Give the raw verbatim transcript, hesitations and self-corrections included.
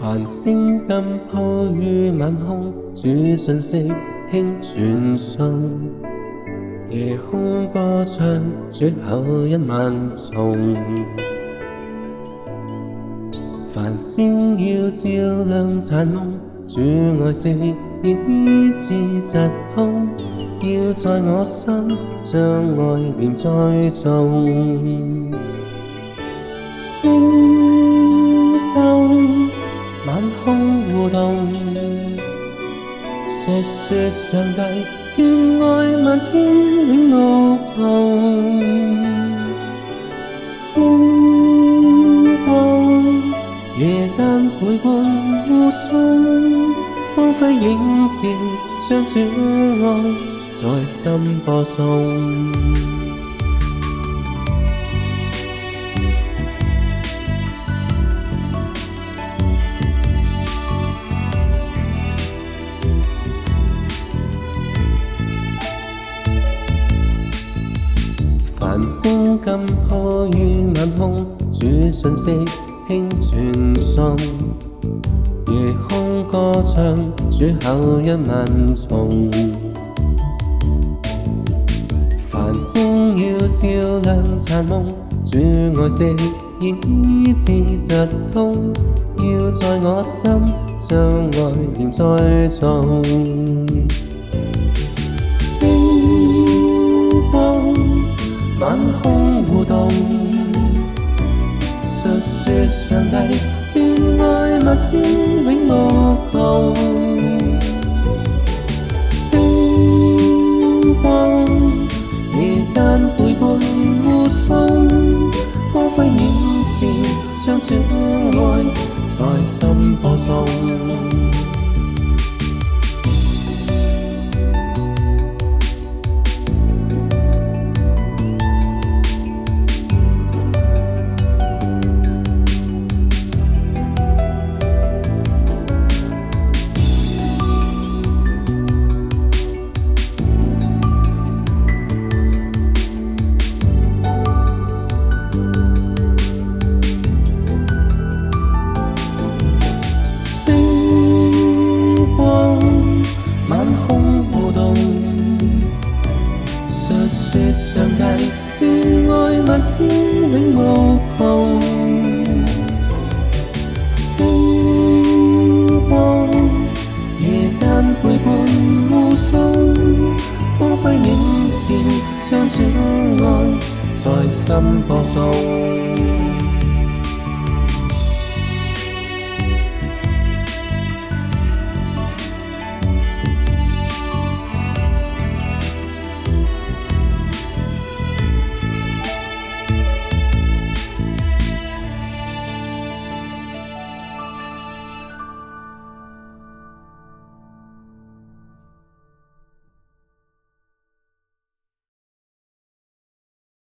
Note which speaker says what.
Speaker 1: 繁星今鋪於晚空，主信息輕傳送。夜空歌唱，主口一萬重。繁星要照亮殘夢，主愛惜醫治疾痛，要在我心將愛念栽種。星光晚空互動，述說上帝眷愛萬千永無窮。星光夜間陪伴護送，光輝映照，將主愛在心播送。繁星今鋪於晚空，主信息輕傳送。夜空歌唱，主口一萬重。繁星要照亮殘夢，主愛惜醫治疾痛，要在我心將愛念栽種。星光晚空互動，述說上帝眷愛萬千永無窮。星光夜間陪伴護送，光輝映照，將主愛在心播送。述說上帝眷愛萬千永無窮。星光夜間陪伴護送，光輝映照，將主愛在心播送。